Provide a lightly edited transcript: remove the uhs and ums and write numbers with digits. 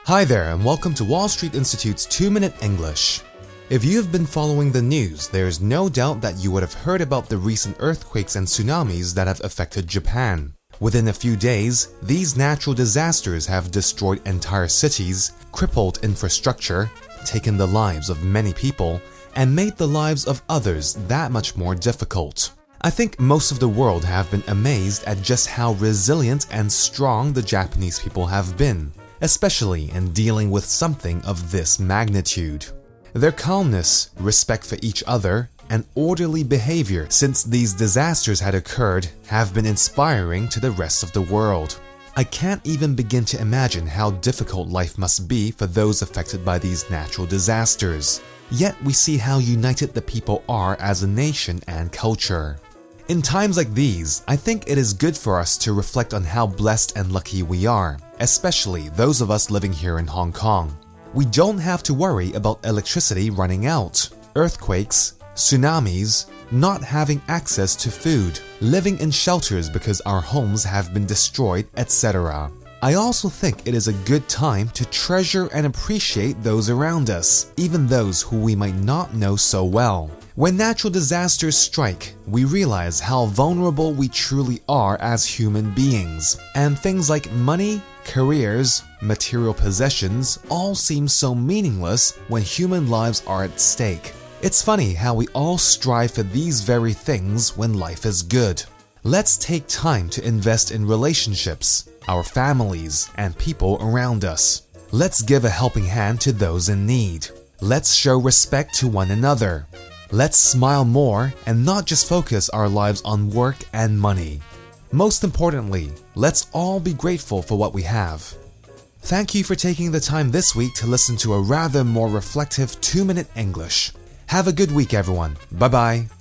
Hi there, and welcome to Wall Street Institute's 2-Minute English. If you have been following the news, there is no doubt that you would have heard about the recent earthquakes and tsunamis that have affected Japan. Within a few days, these natural disasters have destroyed entire cities, crippled infrastructure, taken the lives of many people, and made the lives of others that much more difficult. I think most of the world have been amazed at just how resilient and strong the Japanese people have been, especially in dealing with something of this magnitude. Their calmness, respect for each other, and orderly behavior since these disasters had occurred have been inspiring to the rest of the world. I can't even begin to imagine how difficult life must be for those affected by these natural disasters. Yet we see how united the people are as a nation and culture. In times like these, I think it is good for us to reflect on how blessed and lucky we are, especially those of us living here in Hong Kong. We don't have to worry about electricity running out, earthquakes, tsunamis, not having access to food, living in shelters because our homes have been destroyed, etc. I also think it is a good time to treasure and appreciate those around us, even those who we might not know so well. When natural disasters strike, we realize how vulnerable we truly are as human beings, and things like money, careers, material possessions all seem so meaningless when human lives are at stake. It's funny how we all strive for these very things when life is good. Let's take time to invest in relationships, our families, and people around us. Let's give a helping hand to those in need. Let's show respect to one another. Let's smile more and not just focus our lives on work and money. Most importantly, let's all be grateful for what we have. Thank you for taking the time this week to listen to a rather more reflective 2-Minute English. Have a good week, everyone. Bye-bye.